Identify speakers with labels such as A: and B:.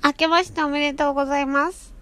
A: 明けましておめでとうございます。